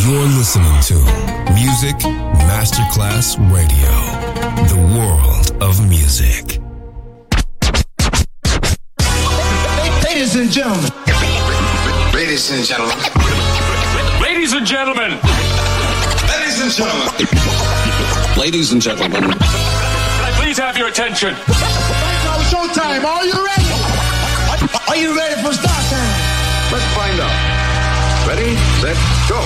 You're listening to Music Masterclass Radio, the world of music. Ladies and gentlemen. Ladies and gentlemen. Ladies and gentlemen. Ladies and gentlemen. Ladies and gentlemen. Can I please have your attention? It's showtime. Are you ready? Are you ready for start time? Let's find out. Ready, set, go.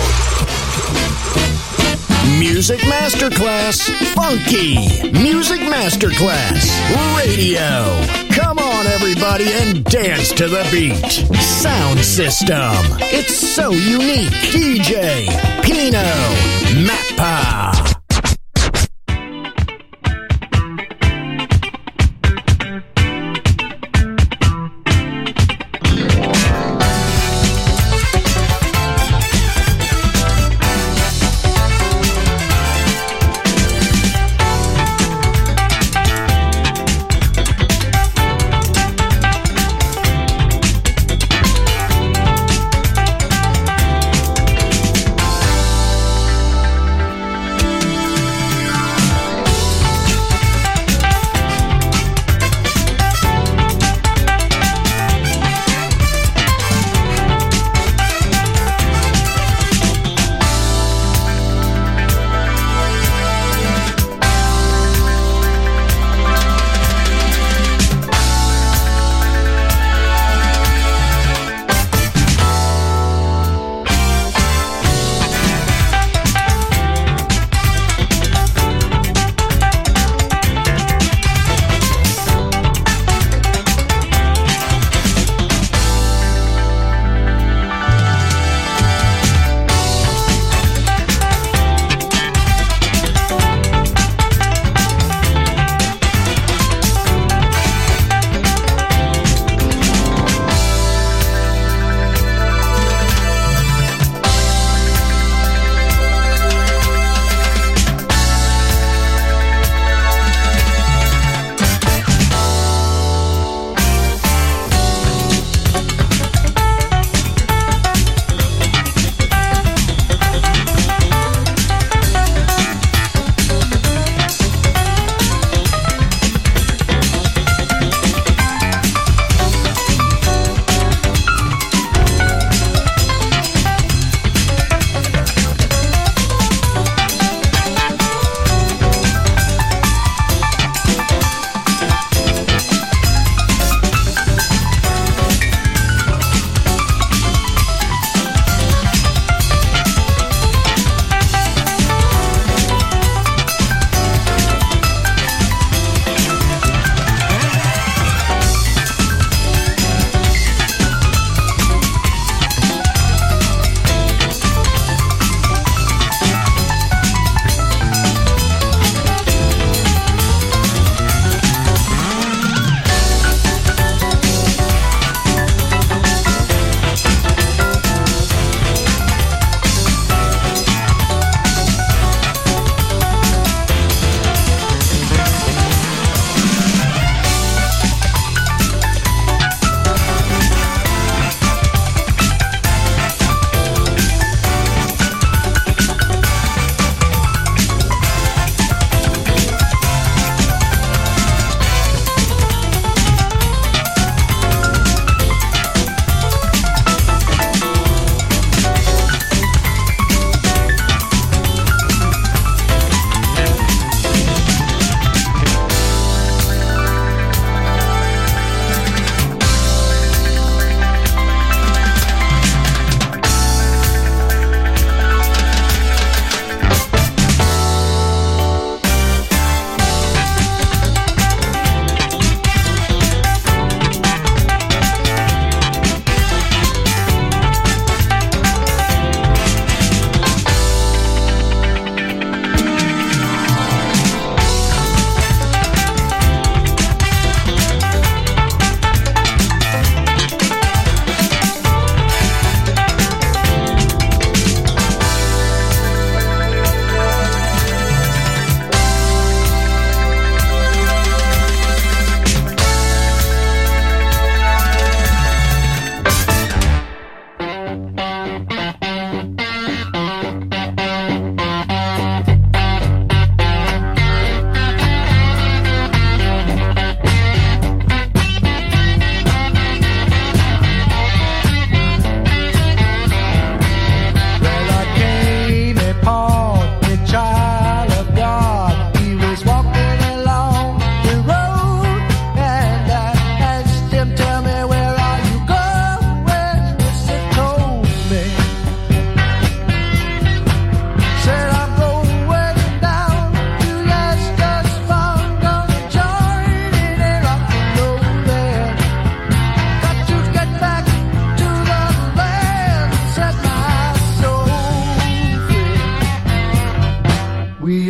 Music Masterclass Funky. Music Masterclass Radio. Come on, everybody, and dance to the beat. Sound system. It's so unique. DJ Pino Mappa.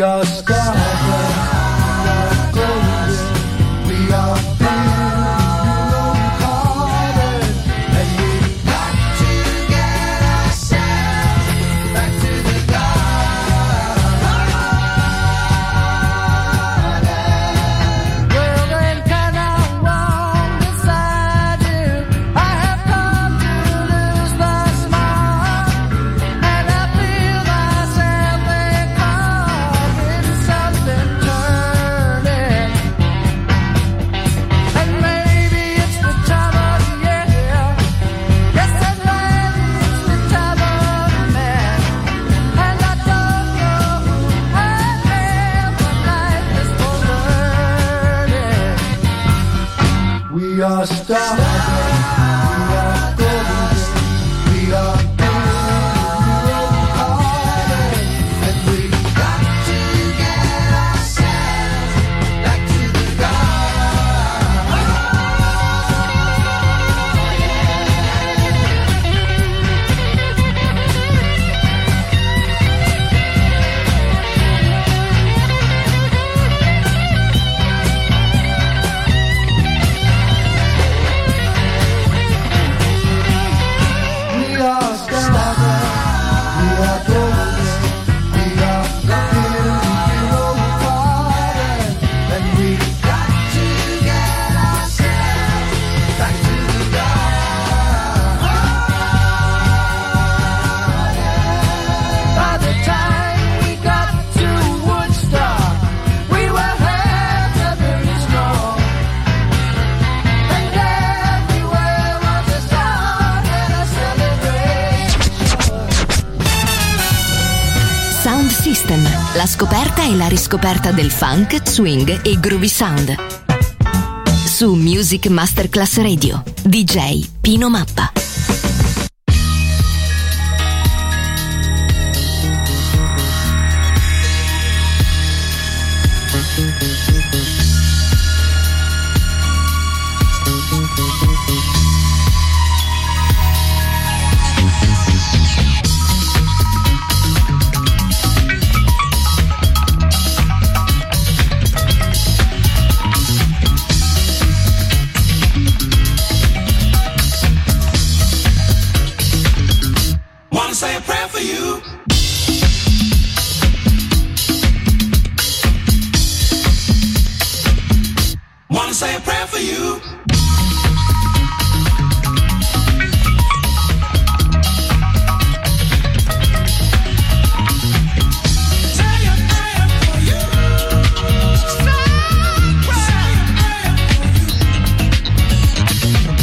We are stars, we are golden, we are broken-hearted, and we've got to get ourselves back to the garden. Well then, can I walk beside you? I have come to lose my smile, and I feel myself becoming something turning. And maybe it's the time of year. Yes, and maybe it's the time of man. And I don't know who I am, but life is for learning. We are stars, we are golden, we are broken-hearted, and we've got to get ourselves back to the We are stars, we are golden, we are broken-hearted, and we've got to get ourselves back to the garden. By the time we got to Woodstock, we were heavily strong, and everywhere was a song and a celebration. Sound System, la scoperta e la riscoperta del funk, swing e groovy sound. Su Music Masterclass Radio, DJ Pino Mappa. Wanna say a prayer for you? Wanna say a prayer for you? Say a prayer for you. Say a prayer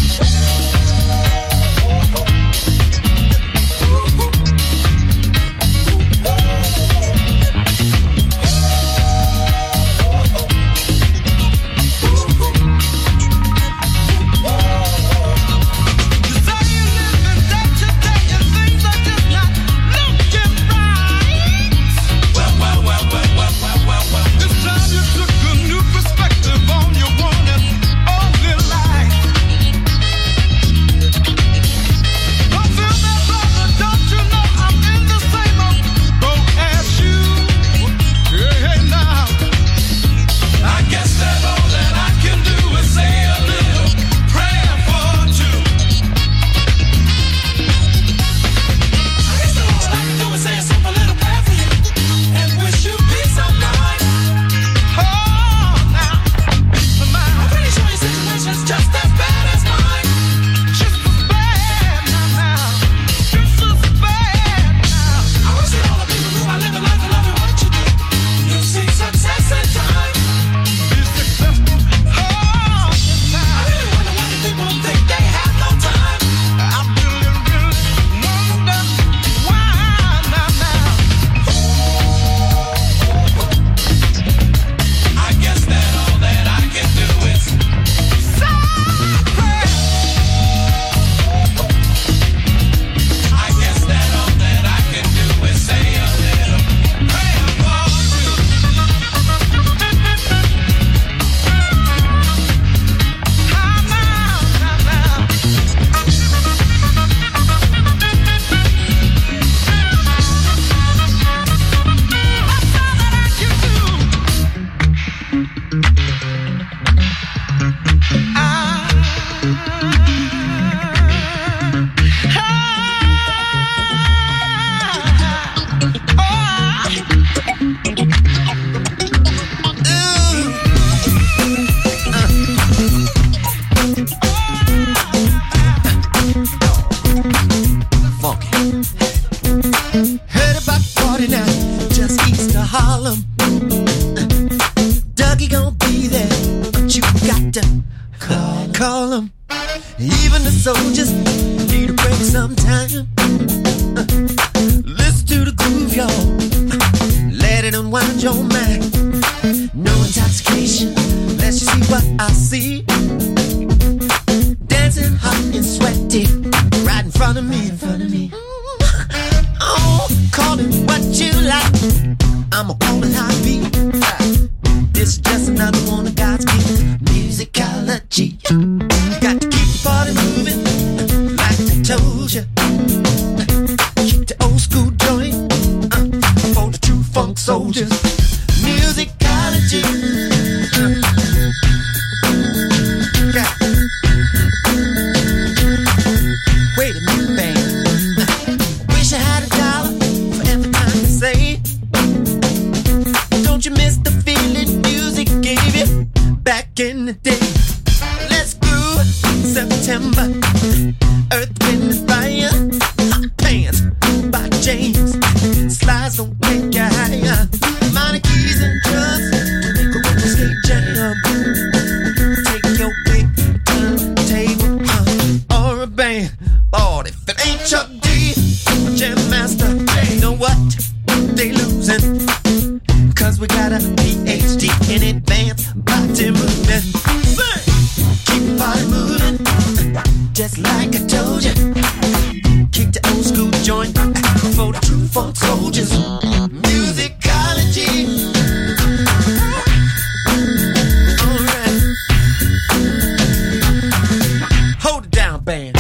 for you. Heard about the party now, just east of Harlem. Dougie gon' be there, but you got to call him. Even the soldiers need a break sometime. Listen to the groove, y'all. Let it unwind your mind. No intoxication, let's just see what I see. Dancing hot and sweaty, right in front of me. Oh, call it what you like. I'ma call it high beat. This is just another one of God's gift musicology. Got to keep the party moving, like I told ya. Keep the old school joint for the true funk soldiers. Musicology. Wait a minute, babe. Wish I had $1 for every time you say. Don't you miss the feeling music gave you back in the day? Let's groove September. Earth, Wind and Fire. Hot Pants by James. Slides don't take you higher. Minor keys and drums to make a roller skate jam. Take your big turntable or a band. Lord, if it ain't Chuck D, Jam Master, you know what? They losing. Cause we got a PhD in advanced body movement. Keep the body moving, just like I told you. Kick the old school joint for the true funk soldiers. Musicology. Alright. Hold it down, band.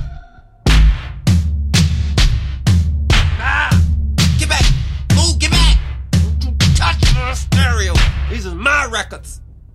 Get back. Move, get back. Don't you touch the stereo. These are my records.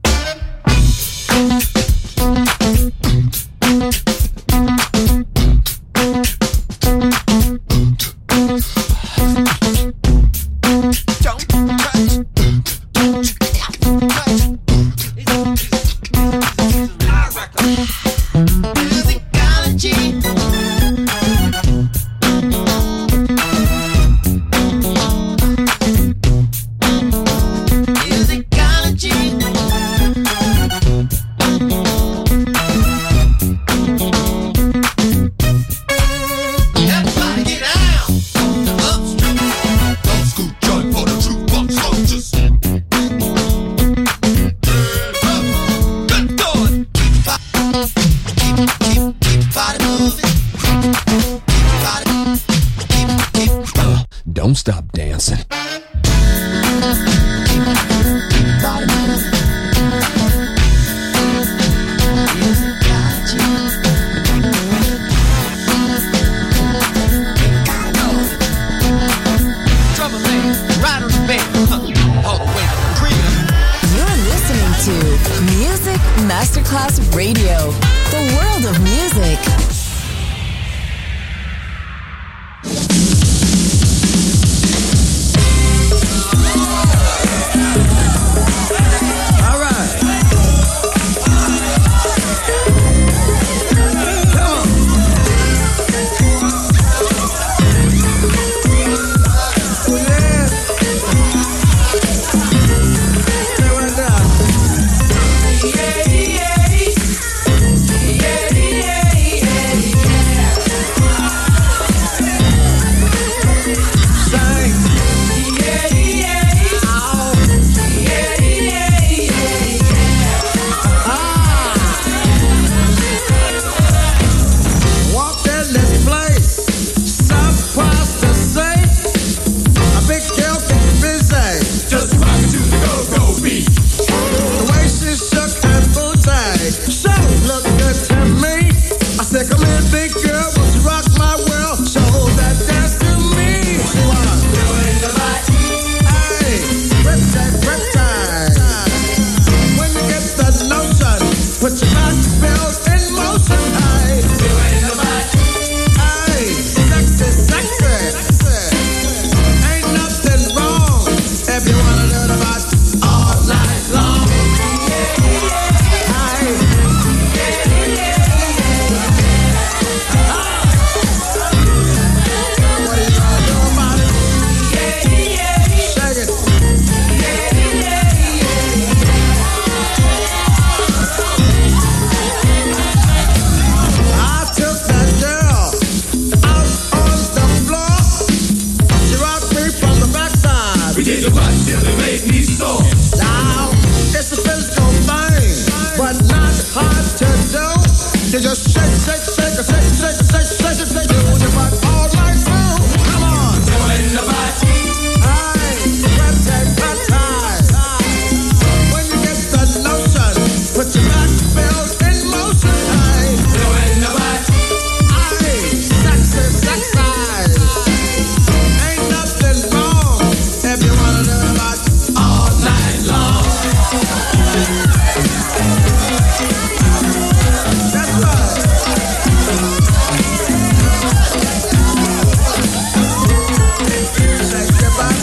Don't stop dancing. You're listening to Music Masterclass Radio, the world of music. Yeah, yeah, yeah. Shake your butt till it make me sore. Now, it's a physical thing, but not hard to do. You just shake, shake, shake, shake, shake, shake, shake, shake, shake, do your butt all night through. Come on. Go in the butt. Put your back bills in motion, aye. Go in the butt. Aye, sexy, sexy. Ain't nothing wrong if you wanna do the butt all night long. That's right. Shake your butt.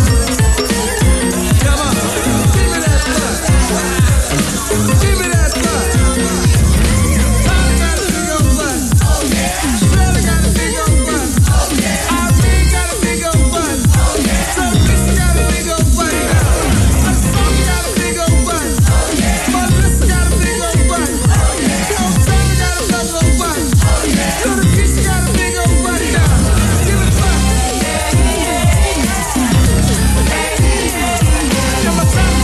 Come on, give me that butt. Give me that butt. Tommy got a big old butt. Oh yeah. Shirley got a big old butt. Oh yeah. Irene got a big old butt. Oh yeah. Sophie got a big old butt. Sophie got a big old butt. Oh yeah. Melissa got a big old butt. Oh yeah. Sammy got a big old butt. Oh yeah. Little Keisha got a big old butt. Give it butt. Come on, Tommy,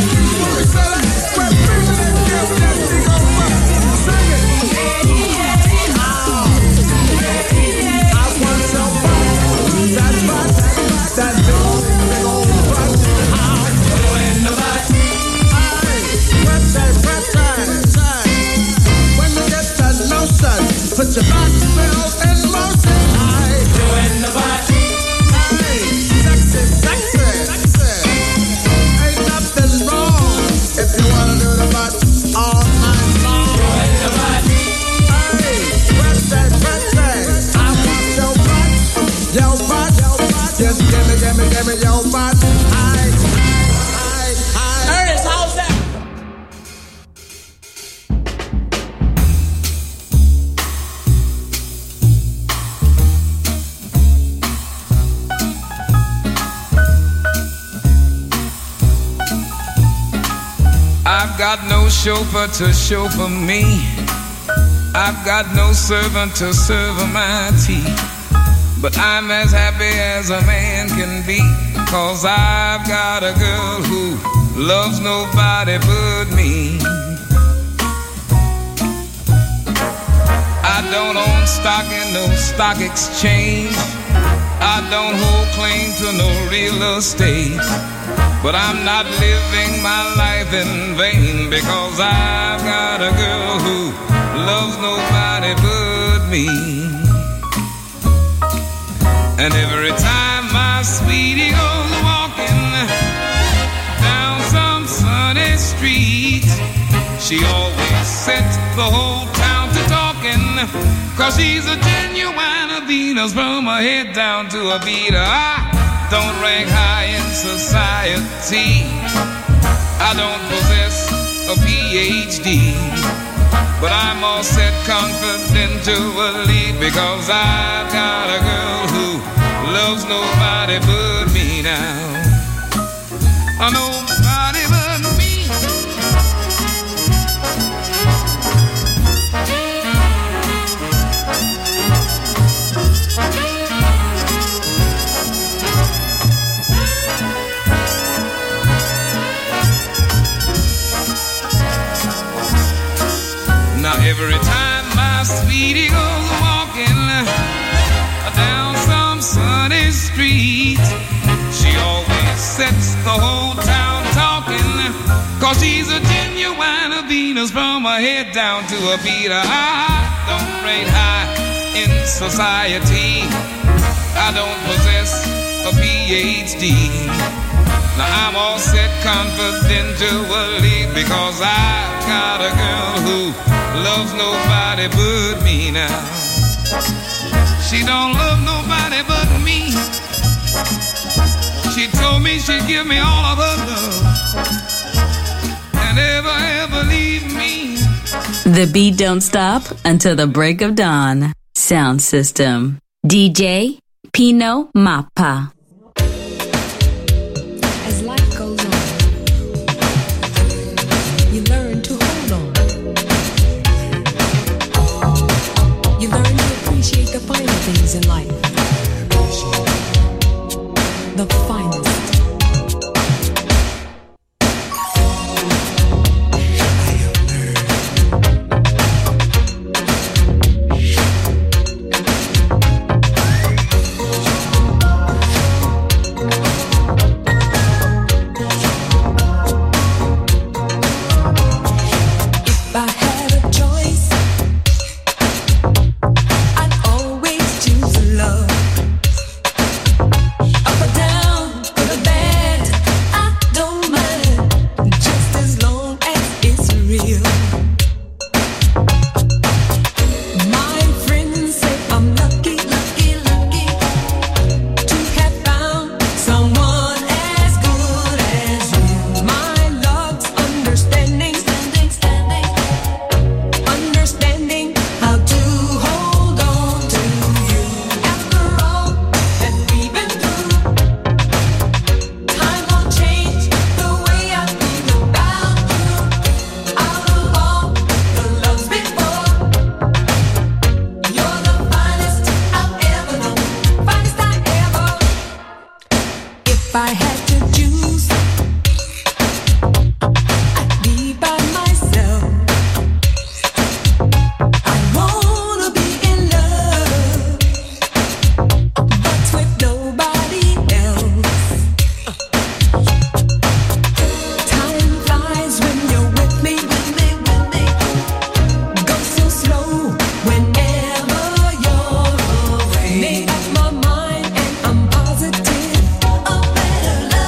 put your back bills in motion, aye. Go in the butt. Aye, sexy, sexy, sexy. Ain't nothing wrong if you wanna do the butt all night long. Go in the butt. Aye, pretty, pretty. I want your butt, your butt, your butt. Just give me your butt. Aye, aye, aye. Ernest, how's that? I've got no chauffeur to chauffeur me. I've got no servant to serve my tea. But I'm as happy as a man can be, 'cause I've got a girl who loves nobody but me. I don't own stock in no stock exchange. I don't hold claim to no real estate. But I'm not living my life in vain, because I've got a girl who loves nobody but me. And every time my sweetie goes walking down some sunny street, she always sets the whole town to talking, 'cause she's a genuine Venus from her head down to her feet. I don't rank high in society. I don't possess a PhD, but I'm all set confidentially, because I've got a girl who loves nobody but me now. Nobody but me. Now every time my sweetie goes walking down some sunny street, she always sets the whole town talking, 'cause she's a genuine Venus from her head down to her feet. I don't rate high in society. I don't possess a PhD. Now I'm all set confidentially, because I've got a girl who loves nobody but me now. She don't love nobody but me. She told me she'd give me all of her love and never ever leave me. The beat don't stop until the break of dawn. Sound system. DJ Pino Mappa. As life goes on, you learn to hold on. You learn to appreciate the finer things in life. The finest I had to choose, I'd be by myself. I wanna be in love, but with nobody else. Time flies when you're with me, go so slow whenever you're away. Made up my mind and I'm positive, a better love.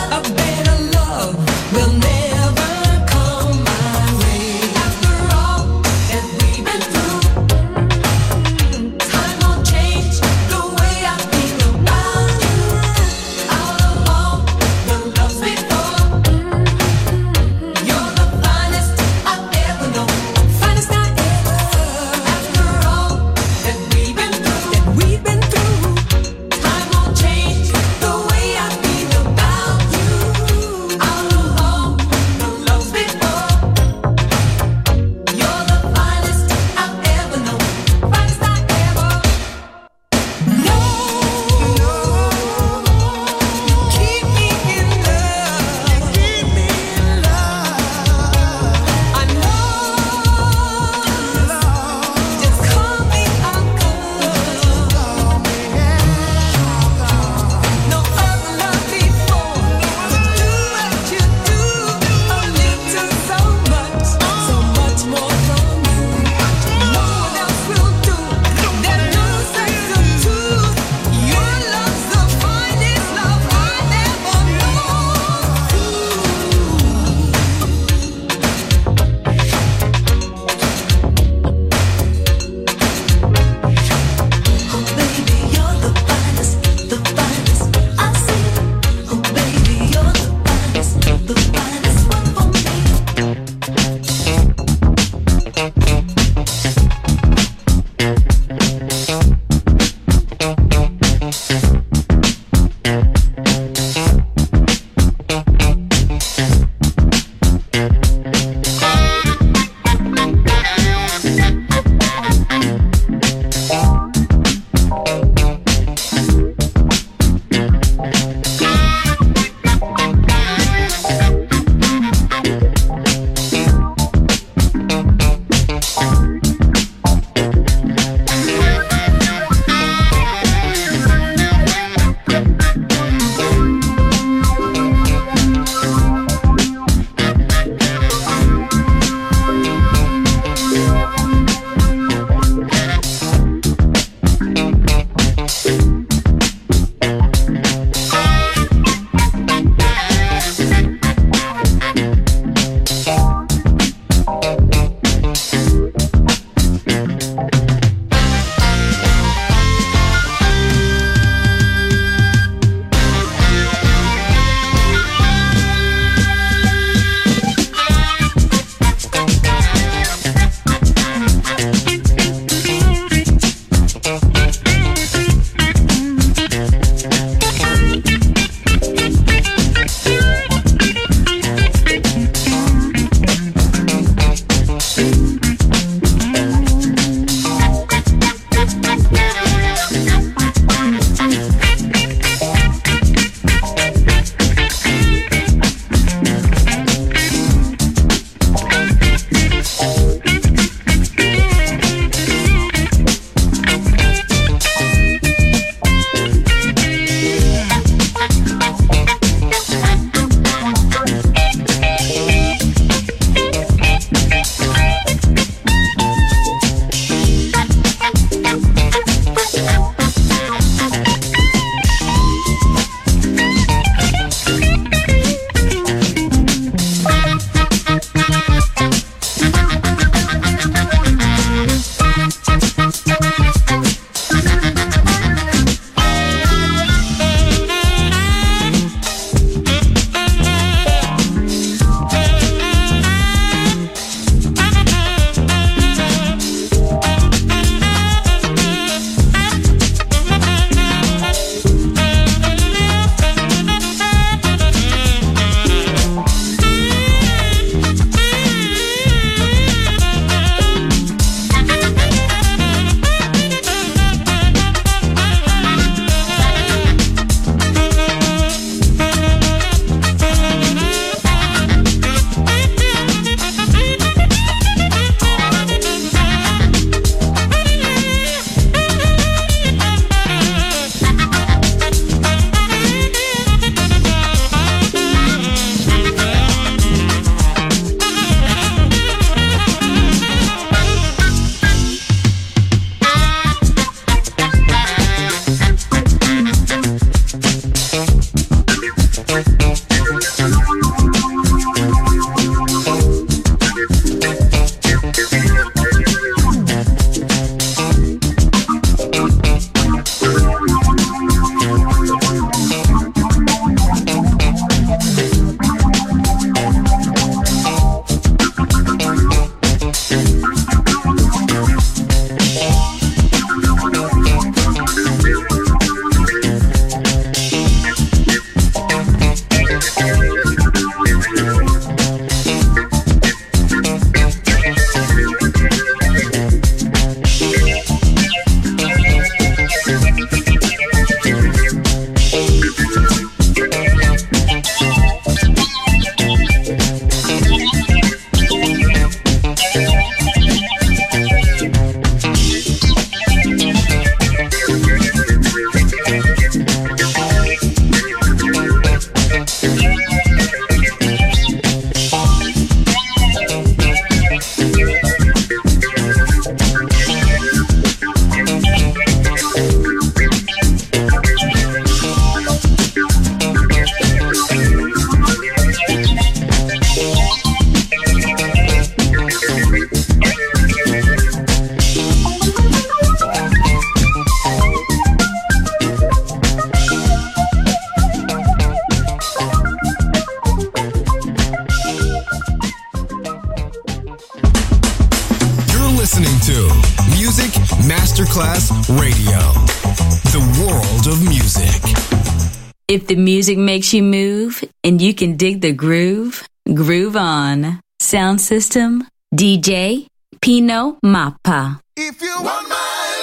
Masterclass Radio. The world of music. If the music makes you move and you can dig the groove, groove on. Sound system, DJ Pino Mappa. If you want my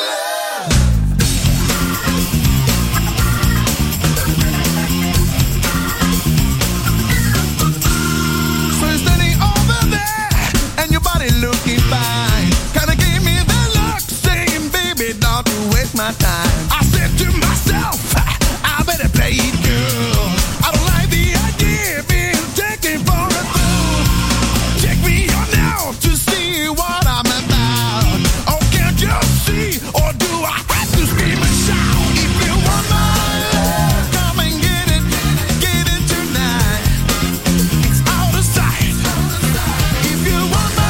looking fine, kinda gave me the look, saying, baby, don't you waste my time. I said to myself, I better play it girl. I don't like the idea of being taken for a fool. Check me out now to see what I'm about. Oh, can't you see, or do I have to scream and shout? If you want my love, come and get it tonight. It's out of sight. If you want my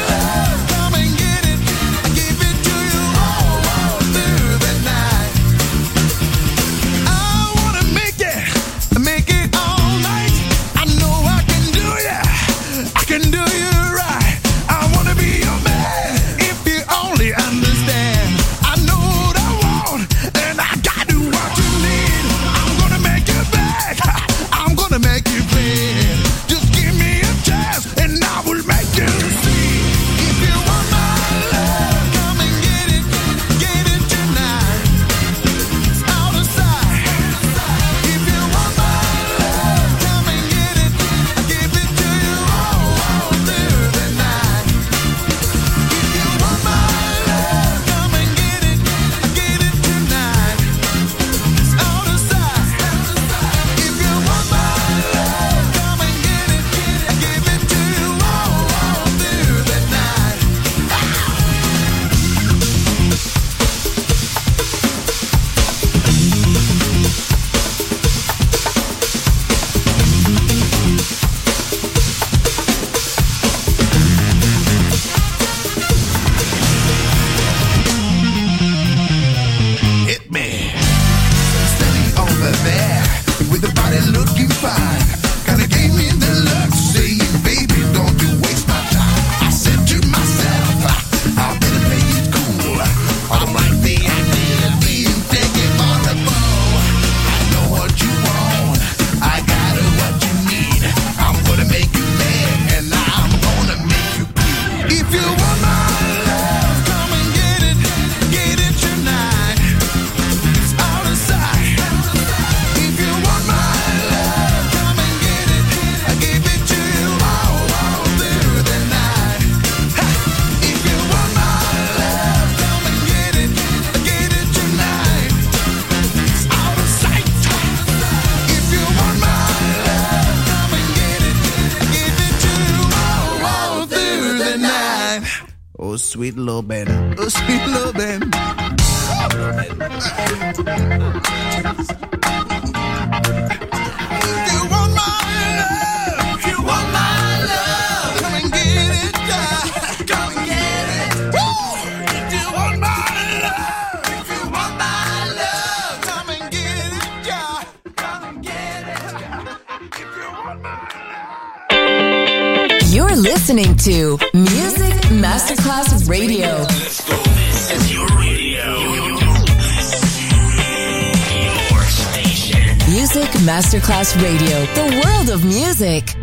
sweet little baby, oh sweet little baby. If you want my love, if you want my love, come and get it, come and get it. Woo! If you want my love, if you want my love, come and get it, come and get it. If you want my love. You're listening to Music Masterclass Radio. Let's go. This is your radio. Your station. Music Masterclass Radio. The world of music.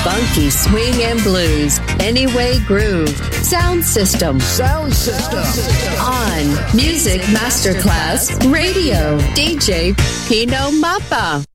funky swing and blues. Anyway Groove. Sound System. On Music Masterclass Radio. DJ Pino Mappa.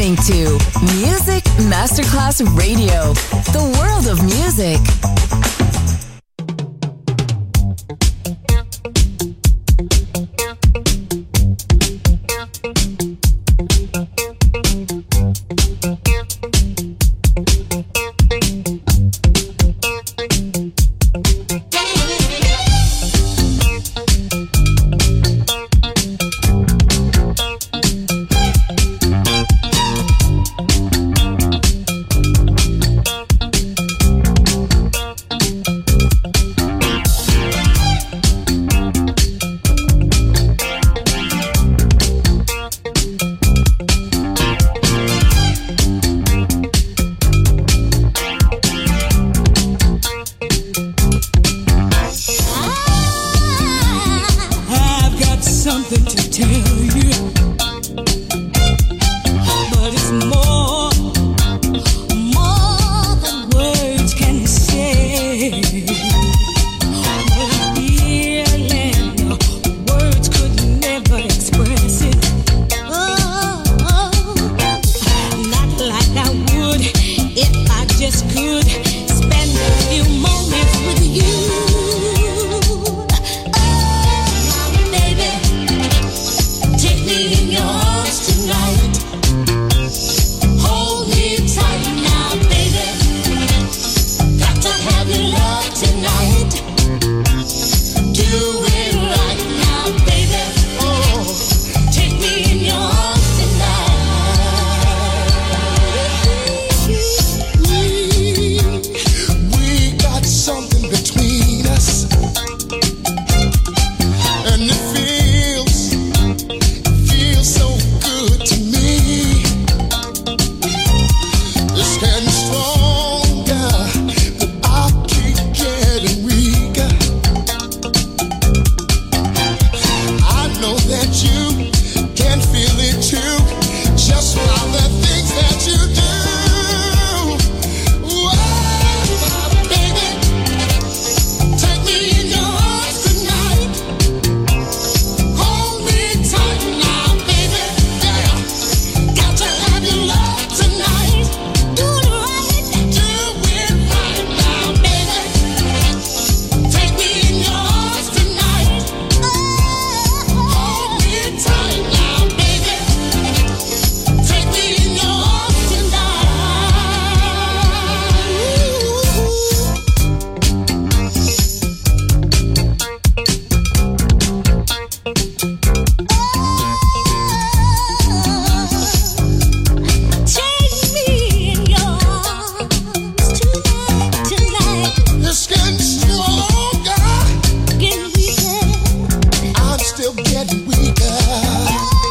listening to Music Masterclass Radio, the world of music. Getting weaker.